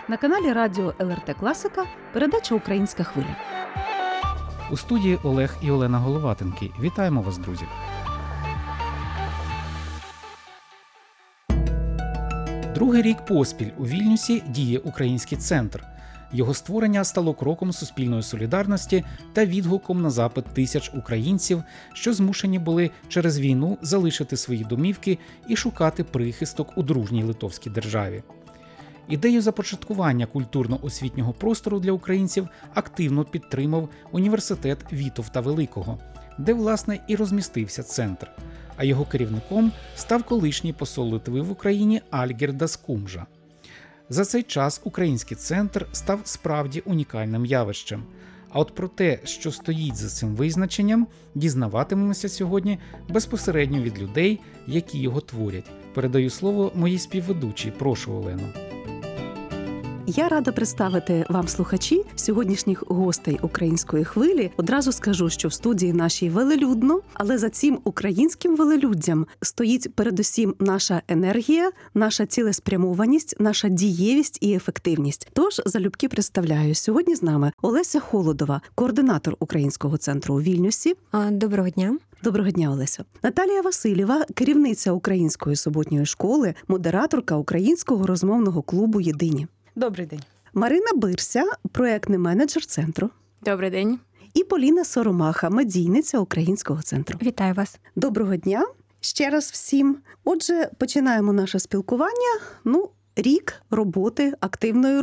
На каналі Радіо ЛРТ Класика передача «Українська хвиля». У студії Олег і Олена Головатенки. Вітаємо вас, друзі! Другий рік поспіль у Вільнюсі діє Український центр. Його створення стало кроком суспільної солідарності та відгуком на запит тисяч українців, що змушені були через війну залишити свої домівки і шукати прихисток у дружній литовській державі. Ідею започаткування культурно-освітнього простору для українців активно підтримав університет Вітовта Великого, де, власне, і розмістився центр. А його керівником став колишній посол Литви в Україні Альгірdas Kumža. За цей час Український центр став справді унікальним явищем. А от про те, що стоїть за цим визначенням, дізнаватимемося сьогодні безпосередньо від людей, які його творять. Передаю слово моїй співведучій. Прошу, Олено. Я рада представити вам, слухачі, сьогоднішніх гостей «Української хвилі». Одразу скажу, що в студії нашій велелюдно, але за цим українським велелюддям стоїть передусім наша енергія, наша цілеспрямованість, наша дієвість і ефективність. Тож, залюбки представляю, сьогодні з нами Олеся Холодова, координатор Українського центру у Вільнюсі. Доброго дня. Доброго дня, Олесю. Наталія Васильєва, керівниця Української суботньої школи, модераторка Українського розмовного клубу «Єдині». Добрий день. Марина Бирся, проєктний менеджер центру. Добрий день. І Поліна Соромаха, медійниця Українського центру. Вітаю вас. Доброго дня ще раз всім. Отже, починаємо наше спілкування. Рік роботи, активної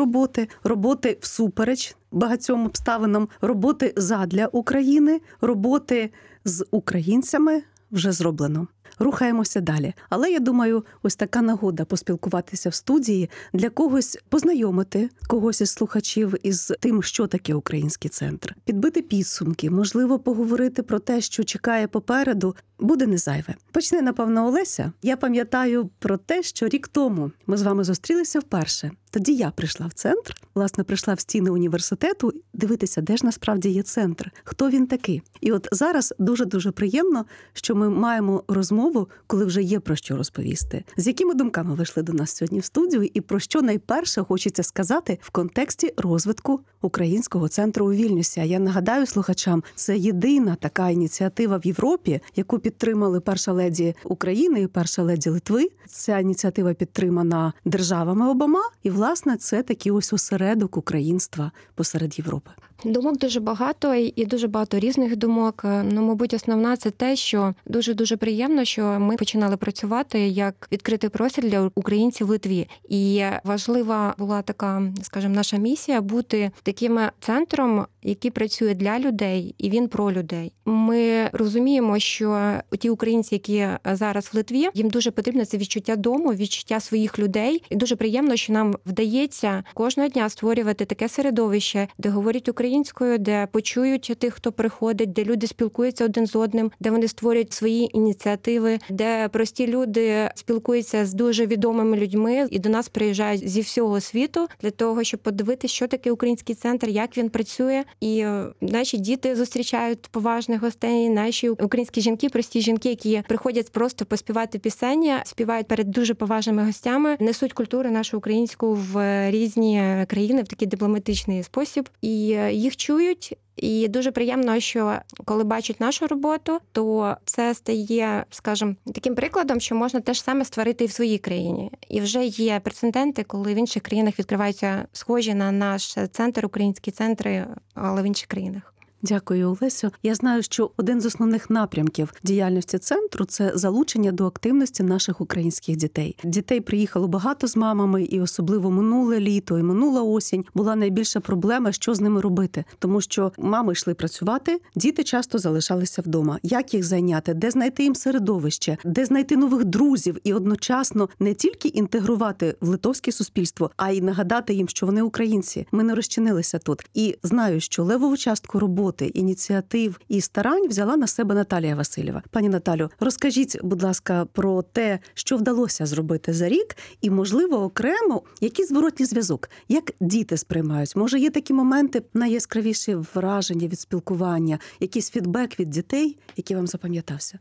роботи всупереч багатьом обставинам, роботи задля України, роботи з українцями вже зроблено. Рухаємося далі. Але, я думаю, ось така нагода поспілкуватися в студії, для когось познайомити когось із слухачів із тим, що таке Український центр. Підбити підсумки, можливо, поговорити про те, що чекає попереду, буде не зайве. Почне, напевно, Олеся. Я пам'ятаю про те, що рік тому ми з вами зустрілися вперше. Тоді я прийшла в центр, власне, прийшла в стіни університету, дивитися, де ж насправді є центр, хто він такий. І от зараз дуже-дуже приємно, що ми маємо розмову, коли вже є про що розповісти. З якими думками вийшли до нас сьогодні в студію і про що найперше хочеться сказати в контексті розвитку Українського центру у Вільнюсі. А я нагадаю слухачам, це єдина така ініціатива в Європі, яку підтримали перша леді України і перша леді Литви. Ця ініціатива підтримана державами обома, і, власне, це такий ось осередок українства посеред Європи. Думок дуже багато і дуже багато різних думок. Мабуть, основна – це те, що дуже-дуже приємно, що ми починали працювати як відкритий простір для українців в Литві. І важлива була така, скажімо, наша місія бути таким центром, який працює для людей, і він про людей. Ми розуміємо, що ті українці, які зараз в Литві, їм дуже потрібно це відчуття дому, відчуття своїх людей. І дуже приємно, що нам вдається кожного дня створювати таке середовище, де говорять українською, де почують тих, хто приходить, де люди спілкуються один з одним, де вони створюють свої ініціативи, де прості люди спілкуються з дуже відомими людьми і до нас приїжджають зі всього світу для того, щоб подивитися, що таке Український центр, як він працює. І наші діти зустрічають поважних гостей, наші українські жінки, прості жінки, які приходять просто поспівати пісень, співають перед дуже поважними гостями, несуть культуру нашу українську в різні країни в такий дипломатичний спосіб. І їх чують. І дуже приємно, що коли бачать нашу роботу, то це стає, скажімо, таким прикладом, що можна те ж саме створити і в своїй країні. І вже є прецеденти, коли в інших країнах відкриваються схожі на наш центр, українські центри, але в інших країнах. Дякую, Олесю. Я знаю, що один з основних напрямків діяльності центру – це залучення до активності наших українських дітей. Дітей приїхало багато з мамами, і особливо минуле літо і минула осінь була найбільша проблема, що з ними робити. Тому що мами йшли працювати, діти часто залишалися вдома. Як їх зайняти? Де знайти їм середовище? Де знайти нових друзів? І одночасно не тільки інтегрувати в литовське суспільство, а й нагадати їм, що вони українці. Ми не розчинилися тут. І знаю, що левову частку роботи, ініціатив і старань взяла на себе Наталія Васильєва. Пані Наталю, розкажіть, будь ласка, про те, що вдалося зробити за рік і, можливо, окремо, який зворотній зв'язок, як діти сприймають. Може, є такі моменти, найяскравіші враження від спілкування, якийсь фідбек від дітей, який вам запам'ятався?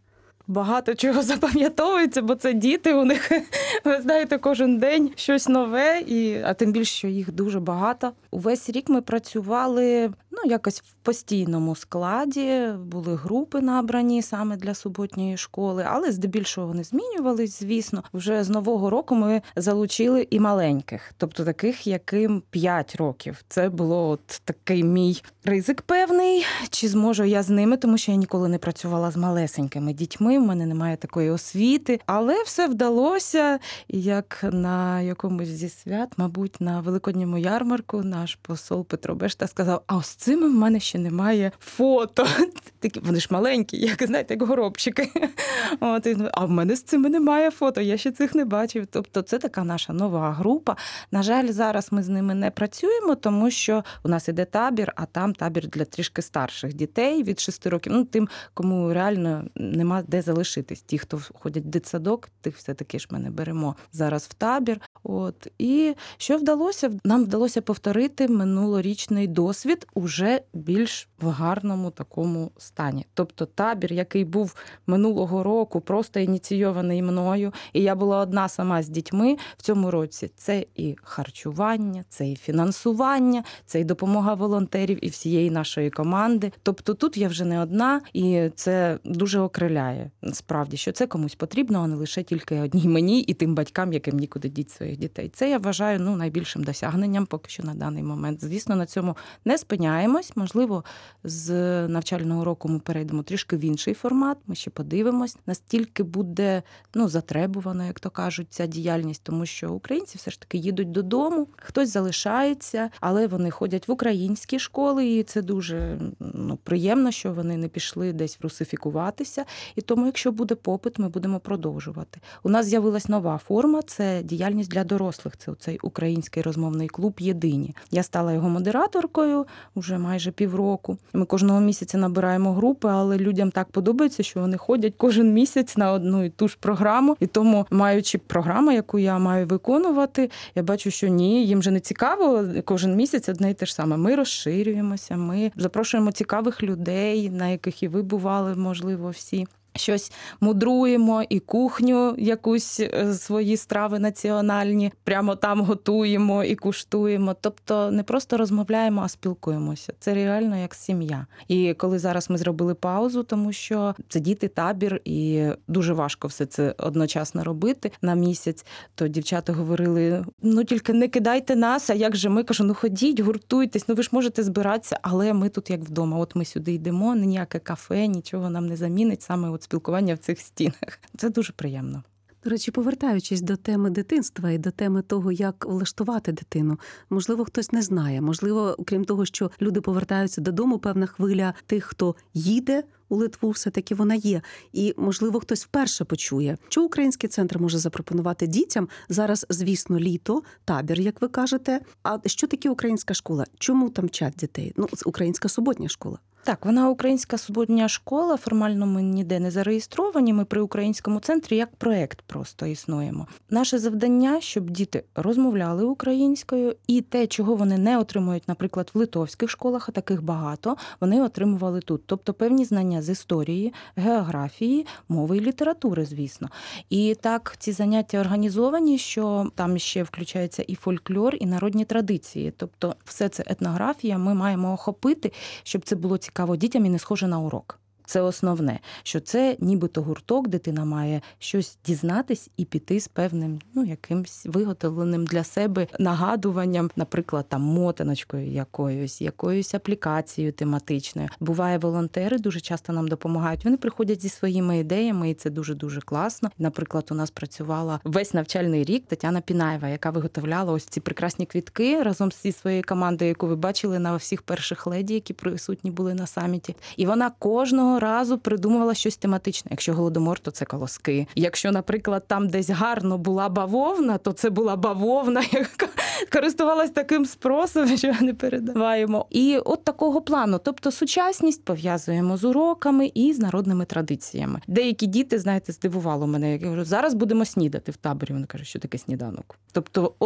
багато чого запам'ятовується, бо це діти, у них, ви знаєте, кожен день щось нове, а тим більше, що їх дуже багато. Увесь рік ми працювали якось в постійному складі, були групи набрані саме для суботньої школи, але здебільшого вони змінювались, звісно. Вже з Нового року ми залучили і маленьких, тобто таких, яким 5 років. Це було от такий мій ризик певний, чи зможу я з ними, тому що я ніколи не працювала з малесенькими дітьми, в мене немає такої освіти, але все вдалося, і як на якомусь зі свят, мабуть, на Великодньому ярмарку наш посол Петро Бешта сказав, а ось цими в мене ще немає фото. Такі, вони ж маленькі, як, знаєте, як горобчики. А в мене з цими немає фото, я ще цих не бачив. Тобто це така наша нова група. На жаль, зараз ми з ними не працюємо, тому що у нас іде табір, а там табір для трішки старших дітей від 6 років. Тим, кому реально нема де залишитись. Ті, хто ходять в дитсадок, тих все-таки ж ми не беремо зараз в табір. І що вдалося? Нам вдалося повторити минулорічний досвід уже більш в гарному такому стані. Тобто табір, який був минулого року, просто ініційований мною, і я була одна сама з дітьми в цьому році. Це і харчування, це і фінансування, це і допомога волонтерів і всієї нашої команди. Тобто тут я вже не одна, і це дуже окриляє. Справді, що це комусь потрібно, а не лише тільки одній мені і тим батькам, яким нікуди діть своїх дітей. Це я вважаю найбільшим досягненням поки що на даний момент. Звісно, на цьому не спиняємось. Можливо, з навчального року ми перейдемо трішки в інший формат. Ми ще подивимось, настільки буде затребувано, як то кажуть, ця діяльність, тому що українці все ж таки їдуть додому, хтось залишається, але вони ходять в українські школи, і це дуже приємно, що вони не пішли десь русифікуватися. І тому, якщо буде попит, ми будемо продовжувати. У нас з'явилась нова форма, це діяльність для дорослих. Це цей український розмовний клуб «Єдині». Я стала його модераторкою вже майже півроку. Ми кожного місяця набираємо групи, але людям так подобається, що вони ходять кожен місяць на одну і ту ж програму. І тому, маючи програму, яку я маю виконувати, я бачу, що ні, їм же не цікаво кожен місяць одне і те ж саме. Ми розширюємося, ми запрошуємо цікавих людей, на яких і ви бували, можливо, всі. Щось мудруємо, і кухню якусь, свої страви національні, прямо там готуємо і куштуємо. Тобто не просто розмовляємо, а спілкуємося. Це реально як сім'я. І коли зараз ми зробили паузу, тому що це діти, табір, і дуже важко все це одночасно робити на місяць, то дівчата говорили, тільки не кидайте нас, а як же ми? Кажу, ходіть, гуртуйтесь, ви ж можете збиратися, але ми тут як вдома. От ми сюди йдемо, ніяке кафе, нічого нам не замінить, саме спілкування в цих стінах. Це дуже приємно. До речі, повертаючись до теми дитинства і до теми того, як влаштувати дитину, можливо, хтось не знає. Можливо, окрім того, що люди повертаються додому, певна хвиля тих, хто їде у Литву, все-таки вона є. І, можливо, хтось вперше почує, що Український центр може запропонувати дітям. Зараз, звісно, літо, табір, як ви кажете. А що таке українська школа? Чому там вчать дітей? Українська суботня школа. Так, вона українська суботня школа, формально ми ніде не зареєстровані, ми при Українському центрі як проєкт просто існуємо. Наше завдання, щоб діти розмовляли українською, і те, чого вони не отримують, наприклад, в литовських школах, а таких багато, вони отримували тут. Тобто певні знання з історії, географії, мови і літератури, звісно. І так, ці заняття організовані, що там ще включається і фольклор, і народні традиції. Тобто все це етнографія ми маємо охопити, щоб це було цікаво дітям і не схоже на урок. Це основне, що це нібито гурток, дитина має щось дізнатись і піти з певним, якимсь виготовленим для себе нагадуванням, наприклад, там мотаночкою якоюсь аплікацією тематичною. Буває, волонтери дуже часто нам допомагають. Вони приходять зі своїми ідеями, і це дуже-дуже класно. Наприклад, у нас працювала весь навчальний рік Тетяна Пінаєва, яка виготовляла ось ці прекрасні квітки разом зі своєю командою, яку ви бачили на всіх перших леді, які присутні були на саміті. І вона кожного разу придумувала щось тематичне. Якщо Голодомор, то це колоски. Якщо, наприклад, там десь гарно була бавовна, то це була бавовна, яка користувалась таким спросом, що не передаваємо. І от такого плану. Тобто сучасність пов'язуємо з уроками і з народними традиціями. Деякі діти, знаєте, здивувало мене. Я кажу, зараз будемо снідати в таборі. Вони кажуть, що таке сніданок. Тобто,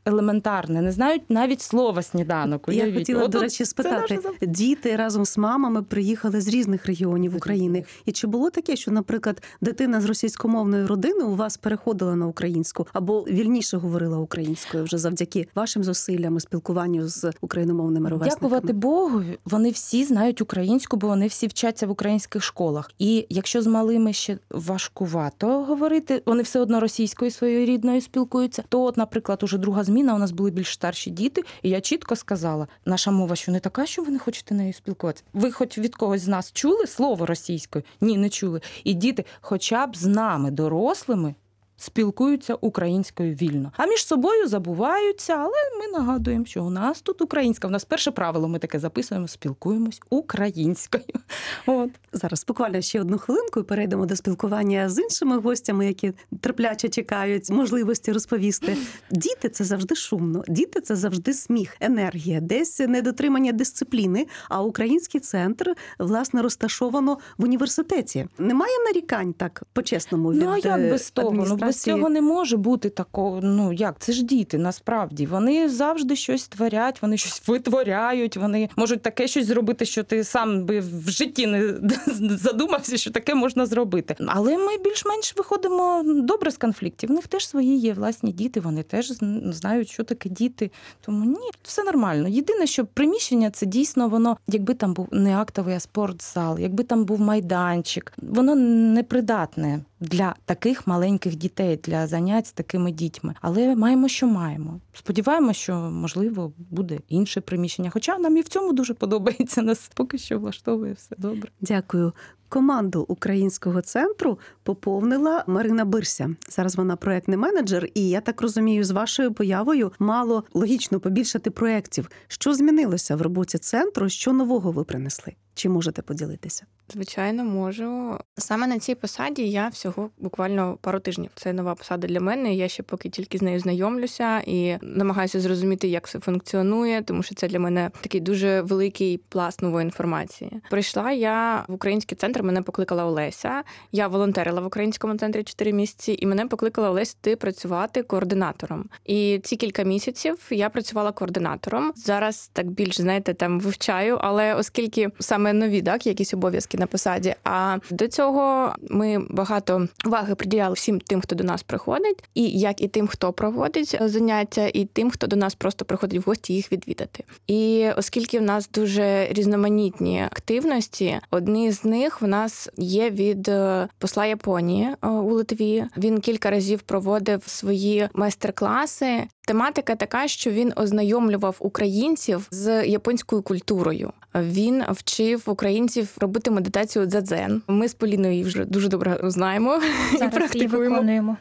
елементарне, не знають навіть слова сніданок. Я Уявіть. хотіла, От до тут речі, це спитати, наше діти разом з мамами приїхали з різних регіонів України. І чи було таке, що, наприклад, дитина з російськомовної родини у вас переходила на українську або вільніше говорила українською вже завдяки вашим зусиллям і спілкуванню з україномовними ровесниками? Дякувати Богу, вони всі знають українську, бо вони всі вчаться в українських школах. І якщо з малими ще важкувато говорити, вони все одно російською своєю рідною спілкуються, то от, наприклад, уже друга зміна, у нас були більш старші діти, і я чітко сказала, наша мова що не така, що ви не хочете нею спілкуватися. Ви хоч від когось з нас чули слово російською? Ні, не чули. І діти хоча б з нами, дорослими, спілкуються українською вільно. А між собою забуваються, але ми нагадуємо, що у нас тут українська. У нас перше правило, ми таке записуємо, спілкуємось українською. От. Зараз буквально ще одну хвилинку і перейдемо до спілкування з іншими гостями, які терпляче чекають можливості розповісти. Діти – це завжди шумно, діти – це завжди сміх, енергія, десь недотримання дисципліни, а український центр, власне, розташовано в університеті. Немає нарікань так, по-чесному, від Ну, а як без того? адміністрації? Без цього не може бути такого, це ж діти, насправді. Вони завжди щось творять, вони щось витворяють, вони можуть таке щось зробити, що ти сам би в житті не задумався, що таке можна зробити. Але ми більш-менш виходимо добре з конфліктів. В них теж свої є власні діти, вони теж знають, що таке діти. Тому ні, все нормально. Єдине, що приміщення це дійсно воно, якби там був не актовий, а спортзал, якби там був майданчик, воно непридатне для таких маленьких дітей, для занять з такими дітьми. Але маємо, що маємо. Сподіваємося, що, можливо, буде інше приміщення. Хоча нам і в цьому дуже подобається. Нас поки що влаштовує все добре. Дякую. Команду українського центру поповнила Марина Бирся. Зараз вона проєктний менеджер, і я так розумію, з вашою появою мало логічно побільшати проєктів. Що змінилося в роботі центру? Що нового ви принесли? Чи можете поділитися? Звичайно, можу. Саме на цій посаді я всього буквально пару тижнів. Це нова посада для мене, я ще поки тільки з нею знайомлюся і намагаюся зрозуміти, як все функціонує, тому що це для мене такий дуже великий пласт нової інформації. Прийшла я в український центр, мене покликала Олеся. Я волонтерила в українському центрі 4 місяці, і мене покликала Олеся працювати координатором. І ці кілька місяців я працювала координатором. Зараз так більш, там вивчаю, але оскільки саме нові, якісь обов'язки на посаді. А до цього ми багато уваги приділяли всім тим, хто до нас приходить, і як і тим, хто проводить заняття, і тим, хто до нас просто приходить в гості їх відвідати. І оскільки в нас дуже різноманітні активності, одні з них в нас є від посла Японії у Литві. Він кілька разів проводив свої майстер-класи. Тематика така, що він ознайомлював українців з японською культурою. Він вчив українців робити медитацію дзадзен. Ми з Поліною її вже дуже добре знаємо. Зараз і практикуємо. її виконуємо.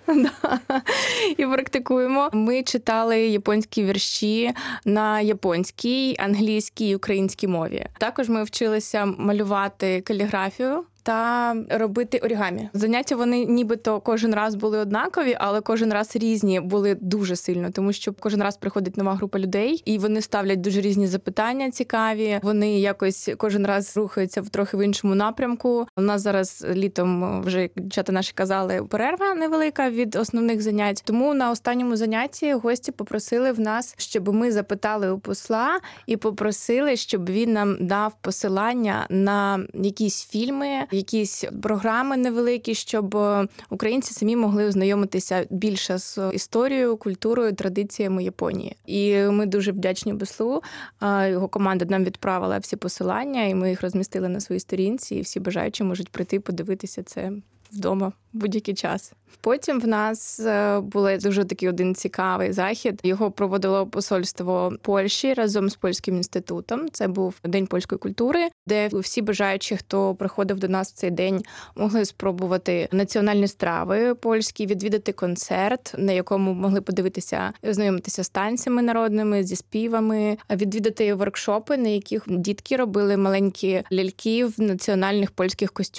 І практикуємо. Ми читали японські вірші на японській, англійській і українській мові. Також ми вчилися малювати каліграфію та робити орігамі. Заняття вони нібито кожен раз були однакові, але кожен раз різні були дуже сильно, тому що кожен раз приходить нова група людей, і вони ставлять дуже різні запитання цікаві, вони якось кожен раз рухаються трохи в іншому напрямку. У нас зараз літом, вже дівчата наші казали, перерва невелика від основних занять. Тому на останньому занятті гості попросили в нас, щоб ми запитали у посла і попросили, щоб він нам дав посилання на якісь фільми, якісь програми невеликі, щоб українці самі могли ознайомитися більше з історією, культурою, традиціями Японії. І ми дуже вдячні послу. Його команда нам відправила всі посилання, і ми їх розмістили на своїй сторінці, і всі бажаючі можуть прийти подивитися це вдома в будь-який час. Потім в нас був дуже такий один цікавий захід. Його проводило посольство Польщі разом з Польським інститутом. Це був День польської культури, де всі бажаючі, хто приходив до нас в цей день, могли спробувати національні страви польські, відвідати концерт, на якому могли подивитися, ознайомитися з танцями народними, зі співами, відвідати воркшопи, на яких дітки робили маленькі ляльки в національних польських костюмах.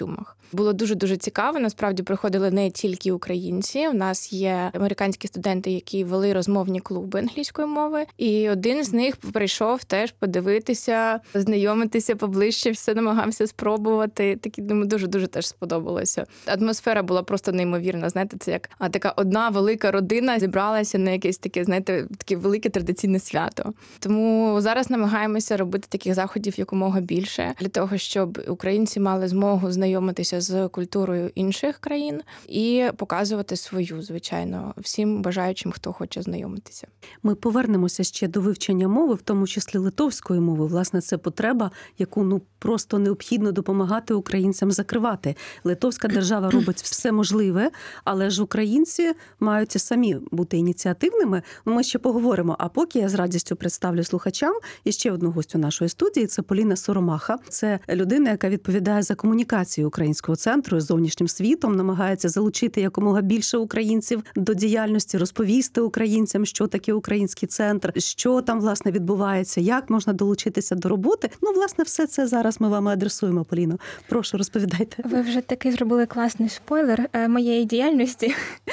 Було дуже-дуже цікаво. Насправді приходили не тільки українці. У нас є американські студенти, які вели розмовні клуби англійської мови. І один з них прийшов теж подивитися, знайомитися поближче, все намагався спробувати. Такі, думаю, дуже-дуже теж сподобалося. Атмосфера була просто неймовірна. Знаєте, це як така одна велика родина зібралася на якесь таке, знаєте, таке велике традиційне свято. Тому зараз намагаємося робити таких заходів якомога більше, для того, щоб українці мали змогу знайомитися з культурою інших країн і показувати свою, звичайно, всім бажаючим, хто хоче знайомитися. Ми повернемося ще до вивчення мови, в тому числі литовської мови. Власне, це потреба, яку просто необхідно допомагати українцям закривати. Литовська держава робить все можливе, але ж українці мають самі бути ініціативними. Ми ще поговоримо. А поки я з радістю представлю слухачам і ще одну гостю нашої студії – це Поліна Соромаха. Це людина, яка відповідає за комунікацію Українського центру з зовнішнім світом, намагається залучити якомога більше українців до діяльності, розповісти українцям, що таке Український центр, що там, власне, відбувається, як можна долучитися до роботи. Власне, все це зараз ми вам адресуємо, Поліно. Прошу, розповідайте. Ви вже таки зробили класний спойлер моєї діяльності.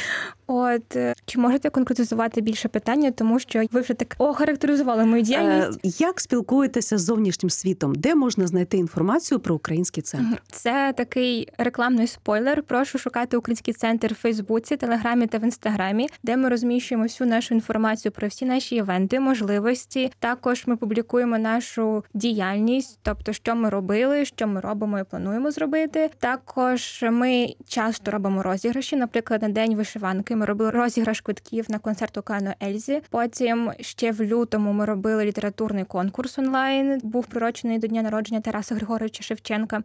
Чи можете конкретизувати більше питання, тому що ви вже так охарактеризували мою діяльність? Як спілкуєтеся з зовнішнім світом? Де можна знайти інформацію про Український центр? Це такий рекламний спойлер. Прошу шукати Український центр в Фейсбуці, Телеграмі та в Інстаграмі, де ми розміщуємо всю нашу інформацію про всі наші івенти, можливості. Також ми публікуємо нашу діяльність, тобто, що ми робили, що ми робимо і плануємо зробити. Також ми часто робимо розіграші, наприклад, на День вишиванки. Ми робили розіграш квитків на концерт Океану Ельзі. Потім ще в лютому ми робили літературний конкурс онлайн. Був приурочений до дня народження Тараса Григоровича Шевченка.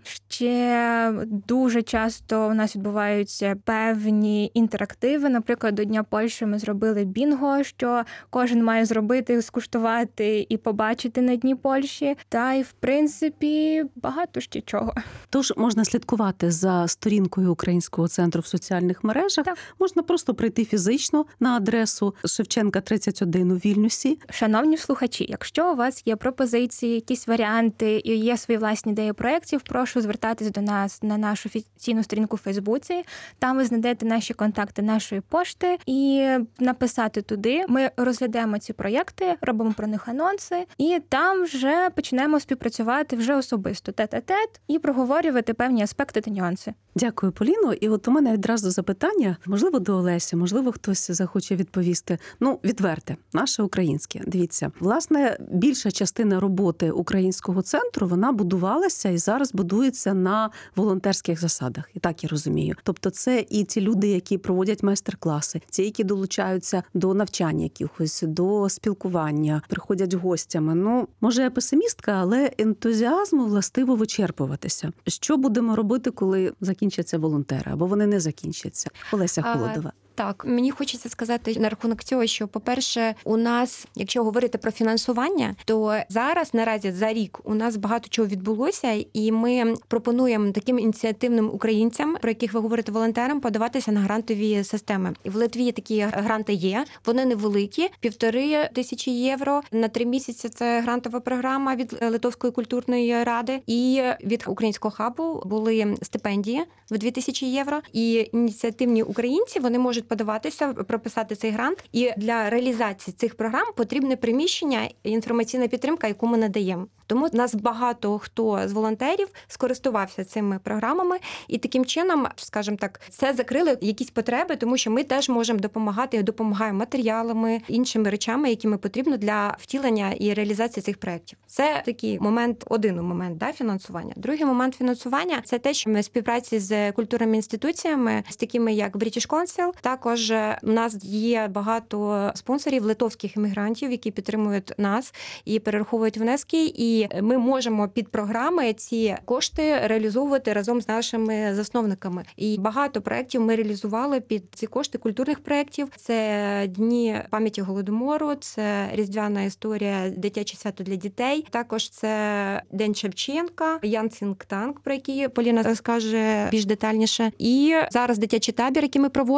Ще дуже часто у нас відбуваються певні інтерактиви. Наприклад, до Дня Польщі ми зробили бінго, що кожен має зробити, скуштувати і побачити на Дні Польщі. Та й, в принципі, багато ще чого. Тож можна слідкувати за сторінкою Українського центру в соціальних мережах. Так. Можна просто прийти фізично на адресу Шевченка 31 у Вільнюсі. Шановні слухачі, якщо у вас є пропозиції, якісь варіанти і є свої власні ідеї проєктів, прошу звертатись до нас на нашу офіційну сторінку в Фейсбуці. Там ви знайдете наші контакти нашої пошти і написати туди. Ми розглядаємо ці проєкти, робимо про них анонси і там вже почнемо співпрацювати вже особисто, тет-а-тет, і проговорювати певні аспекти та нюанси. Дякую, Поліно. І у мене відразу запитання, можливо, до Олесі, можливо, хтось захоче відповісти. Відверте, наше українське. Дивіться, власне, більша частина роботи Українського центру, вона будувалася і зараз будується на волонтерських засадах. І так я розумію. Тобто це і ті люди, які проводять майстер-класи, ті, які долучаються до навчання якихось, до спілкування, приходять гостями. Може, я песимістка, але ентузіазму властиво вичерпуватися. Що будемо робити, коли закінчаться волонтери, або вони не закінчаться? Олеся Холодова. Так, мені хочеться сказати на рахунок цього, що, по-перше, у нас, якщо говорити про фінансування, то зараз, наразі, за рік у нас багато чого відбулося, і ми пропонуємо таким ініціативним українцям, про яких ви говорите, волонтерам, подаватися на грантові системи. І в Литві такі гранти є, вони невеликі, 1500 євро. На 3 місяці це грантова програма від Литовської культурної ради. І від Українського хабу були стипендії в 2000 євро. І ініціативні українці, вони можуть подаватися, прописати цей грант. І для реалізації цих програм потрібне приміщення і інформаційна підтримка, яку ми надаємо. Тому нас багато хто з волонтерів скористувався цими програмами, і таким чином, скажімо так, це закрили якісь потреби, тому що ми теж можемо допомагати, допомагаємо матеріалами, іншими речами, якими потрібно для втілення і реалізації цих проєктів. Це такий момент, один момент фінансування. Другий момент фінансування – це те, що ми в співпраці з культурними інституціями, з такими як British Council. Також у нас є багато спонсорів литовських іммігрантів, які підтримують нас і перераховують внески, і ми можемо під програми ці кошти реалізовувати разом з нашими засновниками. І багато проєктів ми реалізували під ці кошти культурних проєктів. Це Дні пам'яті Голодомору, це Різдвяна історія, дитяче свято для дітей. Також це День Шевченка, Ян Цінктанк, про який Поліна розкаже більш детальніше. І зараз дитячий табір, який ми проводимо, він теж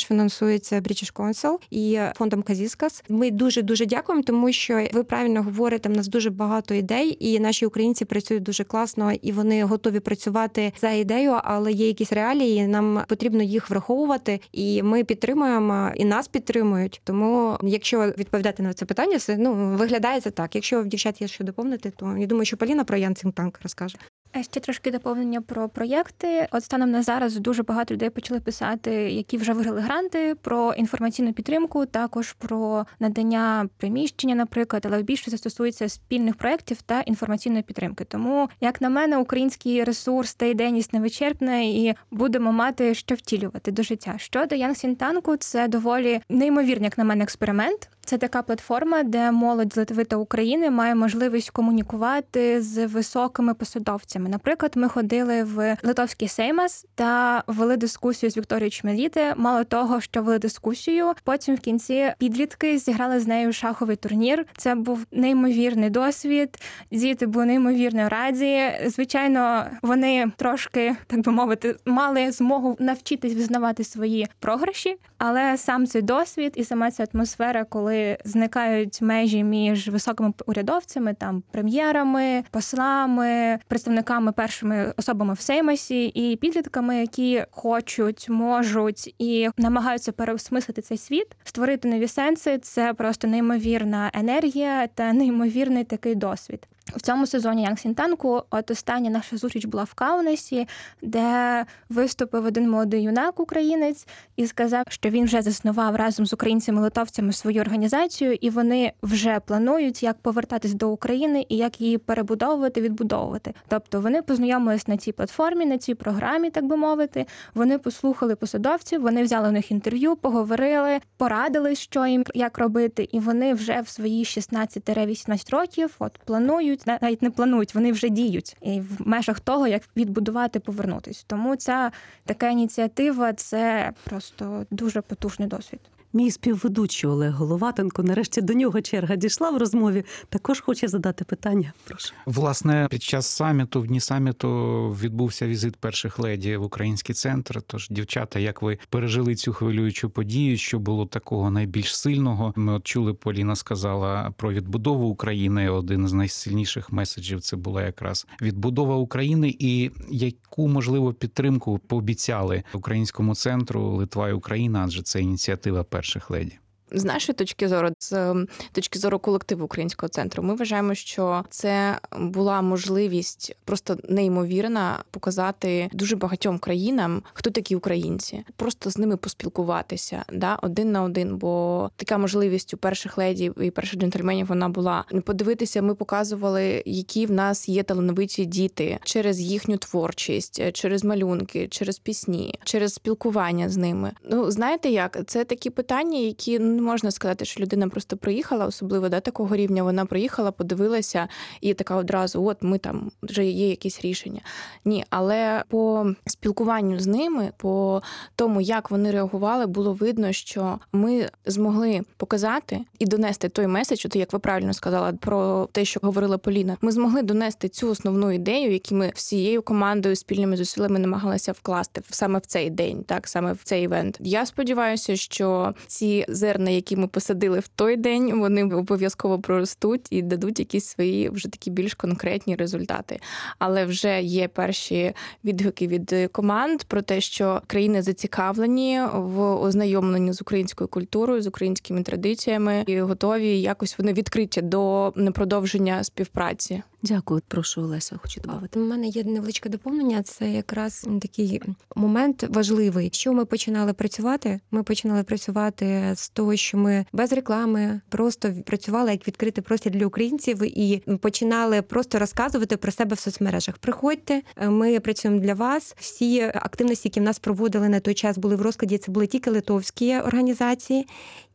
фінансується British Council і фондом Казіскас. Ми дуже дякуємо, тому що ви правильно говорите, в нас дуже багато ідей, і наші українці працюють дуже класно, і вони готові працювати за ідею, але є якісь реалії, нам потрібно їх враховувати, і ми підтримуємо, і нас підтримують. Тому, якщо відповідати на це питання, все виглядає це так. Якщо в дівчат є що доповнити, то я думаю, що Поліна про Young Think Tank розкаже. Ще трошки доповнення про проєкти. От станом на зараз дуже багато людей почали писати, які вже виграли гранти, про інформаційну підтримку, також про надання приміщення, наприклад, але більше це стосується спільних проєктів та інформаційної підтримки. Тому, як на мене, український ресурс та ідейність невичерпна і будемо мати що втілювати до життя. Щодо Young Think Tank, це доволі неймовірний, як на мене, експеримент. Це така платформа, де молодь з Литви та України має можливість комунікувати з високими посадовцями. Наприклад, ми ходили в Литовський Сеймас та вели дискусію з Вікторією Чмеліти. Мало того, що вели дискусію, потім в кінці підлітки зіграли з нею шаховий турнір. Це був неймовірний досвід. Діти були неймовірно раді. Звичайно, вони трошки, так би мовити, мали змогу навчитись визнавати свої програші, але сам цей досвід і сама ця атмосфера, коли зникають межі між високими урядовцями, там прем'єрами, послами, представниками, першими особами в Сеймасі і підлітками, які хочуть, можуть і намагаються переосмислити цей світ, створити нові сенси. Це просто неймовірна енергія та неймовірний такий досвід. В цьому сезоні Young Think Tank, от остання наша зустріч була в Каунасі, де виступив один молодий юнак, українець, і сказав, що він вже заснував разом з українцями-литовцями свою організацію, і вони вже планують, як повертатись до України і як її перебудовувати, відбудовувати. Тобто вони познайомились на цій платформі, на цій програмі, так би мовити, вони послухали посадовців, вони взяли у них інтерв'ю, поговорили, порадили, що їм, як робити, і вони вже в свої 16-18 років планують, навіть не планують, вони вже діють і в межах того, як відбудувати, повернутись. Тому ця така ініціатива – це просто дуже потужний досвід. Мій співведучий Олег Головатенко, нарешті до нього черга дійшла в розмові, також хоче задати питання. Прошу. Власне, під час саміту, в дні саміту відбувся візит перших леді в український центр. Тож, дівчата, як ви пережили цю хвилюючу подію, що було такого найбільш сильного? Ми от чули, Поліна сказала про відбудову України. Один з найсильніших меседжів це була якраз відбудова України. І яку, можливо, підтримку пообіцяли українському центру Литва і Україна, адже це ініціатива перших леді? З нашої точки зору, з точки зору колективу Українського центру, ми вважаємо, що це була можливість просто неймовірна показати дуже багатьом країнам, хто такі українці. Просто з ними поспілкуватися, один на один, бо така можливість у перших леді і перших джентльменів вона була. Подивитися, ми показували, які в нас є талановиті діти через їхню творчість, через малюнки, через пісні, через спілкування з ними. Знаєте як? Це такі питання, які не можна сказати, що людина просто приїхала, особливо такого рівня, вона приїхала, подивилася і така одразу, от ми там, вже є якісь рішення. Ні, але по спілкуванню з ними, по тому, як вони реагували, було видно, що ми змогли показати і донести той меседж, як ви правильно сказали, про те, що говорила Поліна. Ми змогли донести цю основну ідею, яку ми всією командою, спільними зусиллями намагалися вкласти саме в цей день, саме в цей івент. Я сподіваюся, що ці зерна, які ми посадили в той день, вони обов'язково проростуть і дадуть якісь свої вже такі більш конкретні результати. Але вже є перші відгуки від команд про те, що країни зацікавлені в ознайомленні з українською культурою, з українськими традиціями і готові якось вони відкриті до продовження співпраці. Дякую. Прошу, Олеся, хочу додати. У мене є невеличке доповнення. Це якраз такий момент важливий. Що ми починали працювати? Ми починали працювати з того, що ми без реклами просто працювали як відкритий простір для українців і починали просто розказувати про себе в соцмережах. Приходьте, ми працюємо для вас. Всі активності, які в нас проводили на той час, були в розкладі. Це були тільки литовські організації.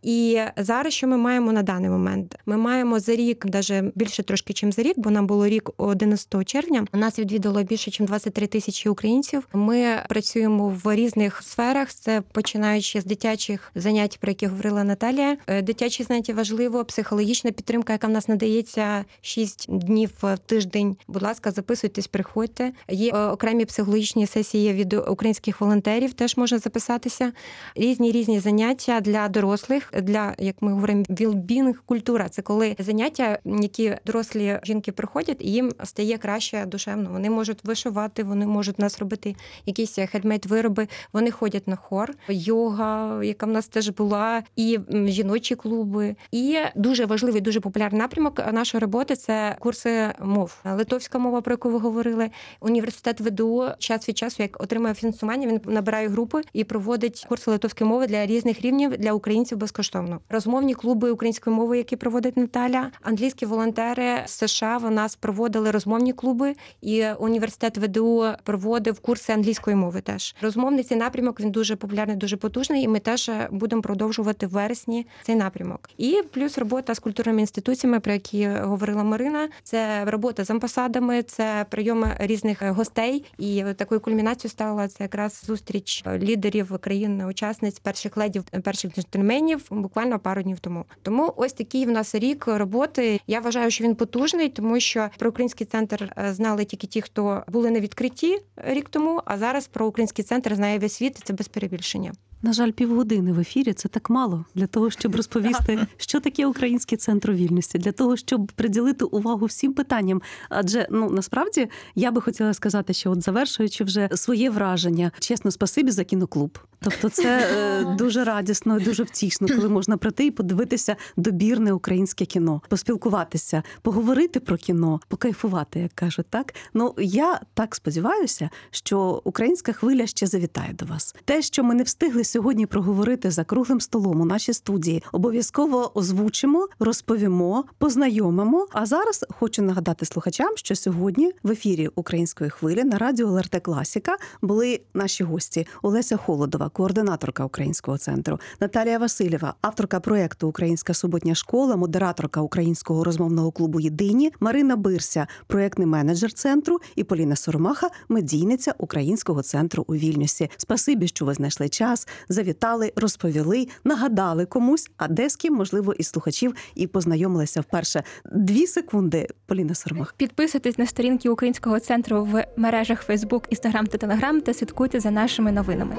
І зараз що ми маємо на даний момент? Ми маємо за рік, навіть більше трошки, ніж за рік, бо нам було рік 11 червня. Нас відвідало більше, ніж 23 тисячі українців. Ми працюємо в різних сферах. Це починаючи з дитячих занять, про які говорила Наталія. Дитячі заняття важливо, психологічна підтримка, яка в нас надається 6 днів в тиждень. Будь ласка, записуйтесь, приходьте. Є окремі психологічні сесії від українських волонтерів, теж можна записатися. Різні заняття для дорослих, для, як ми говоримо, вілбінг-культура. Це коли заняття, які дорослі жінки приходять, і їм стає краще душевно. Вони можуть вишивати, вони можуть у нас робити якісь хендмейд-вироби, вони ходять на хор, йога, яка в нас теж була, і жіночі клуби. І дуже важливий, дуже популярний напрямок нашої роботи – це курси мов. Литовська мова, про яку ви говорили. Університет ВДУ час від часу, як отримує фінансування, він набирає групи і проводить курси литовської мови для різних рівнів, для українців безкоштовно. Розмовні клуби української мови, які проводить Наталя. Англійські волонтери з США в нас проводили розмовні клуби, і університет ВДУ проводив курси англійської мови теж. Розмовний цей напрямок, він дуже популярний, дуже потужний, і ми теж будемо продовжувати в вересні цей напрямок. І плюс робота з культурними інституціями, про які говорила Марина. Це робота з амбасадами, це прийом різних гостей. І такою кульмінацією стала це якраз зустріч лідерів країн-учасниць, перших ледів, перших джентльменів буквально пару днів тому. Тому ось такий в нас рік роботи. Я вважаю, що він потужний, тому що про Український центр знали тільки ті, хто були на відкритті рік тому, а зараз про Український центр знає весь світ, це без перебільшення. На жаль, півгодини в ефірі – це так мало для того, щоб розповісти, що таке Український центр у вільності, для того, щоб приділити увагу всім питанням. Адже, насправді, я би хотіла сказати, що завершуючи вже своє враження, чесно, спасибі за кіноклуб. Тобто це дуже радісно і дуже втішно, коли можна прийти і подивитися добірне українське кіно, поспілкуватися, поговорити про кіно, покайфувати, як кажуть, так? Я так сподіваюся, що українська хвиля ще завітає до вас. Те, що ми не встигли сьогодні проговорити за круглим столом у нашій студії, обов'язково озвучимо, розповімо, познайомимо. А зараз хочу нагадати слухачам, що сьогодні в ефірі Української хвилі на радіо ЛРТ Класіка були наші гості: Олеся Холодова, координаторка Українського центру, Наталія Васильєва, авторка проєкту «Українська суботня школа», модераторка Українського розмовного клубу «Єдині», Марина Бирся, проєктний менеджер центру, і Поліна Соромаха, медійниця Українського центру у Вільнюсі. Спасибі, що ви знайшли час, завітали, розповіли, нагадали комусь, а де з ким, можливо, із слухачів і познайомилися вперше. 2 секунди, Поліна Соромаха. Підписуйтесь на сторінки Українського центру в мережах Facebook, Instagram та Telegram та слідкуйте за нашими новинами.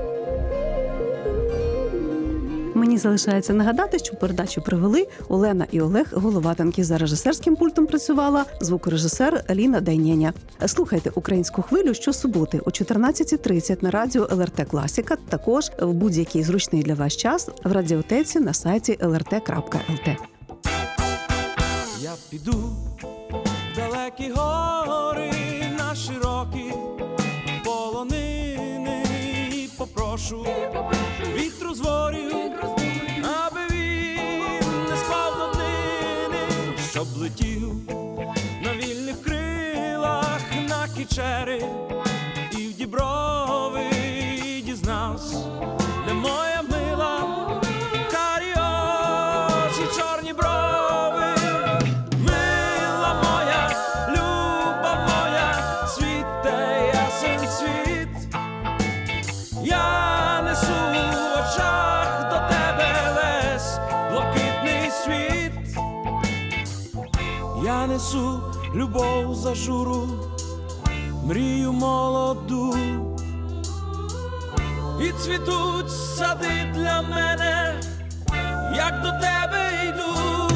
Мені залишається нагадати, що передачу провели Олена і Олег Головатенки. За режисерським пультом працювала звукорежисер Ліна Дайнєня. Слухайте «Українську хвилю» щосуботи о 14:30 на радіо ЛРТ Класіка, також в будь-який зручний для вас час в радіотеці на сайті lrt.lt. Я піду в далекі гори, на широкі полонини і попрошу вітру з ворів, аби він не спав до днини, щоб летів на вільних крилах на Кічери і в Діброви, і дізнався, де моя мила, карі очі, чорні брови. Мила моя, люба моя, світе ясен світ, я несу в очах до тебе весь блакитний світ. Я несу любов за журу, мрію молоду, і цвітуть сади для мене, як до тебе йду.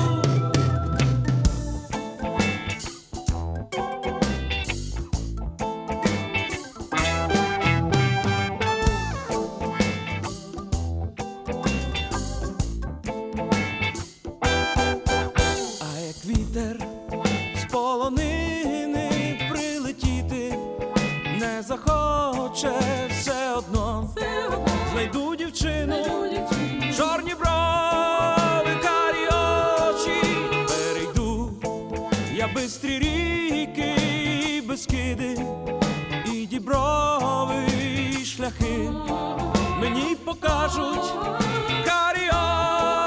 Вітер з полонини прилетіти не захоче, все одно знайду дівчину, чорні брови, карі очі. Перейду я бистрі ріки, Бескиди і Діброви, і шляхи мені покажуть карі очі.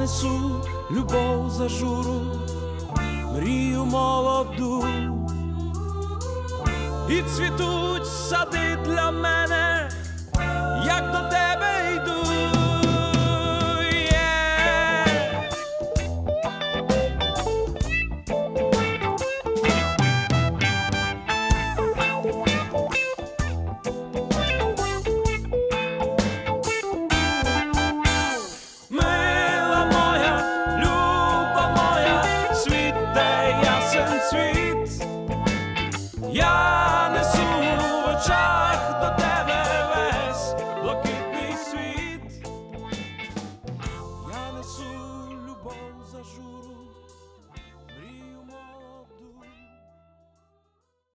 несу любов за журу, мрію молоду. І цвітуть сади для мене,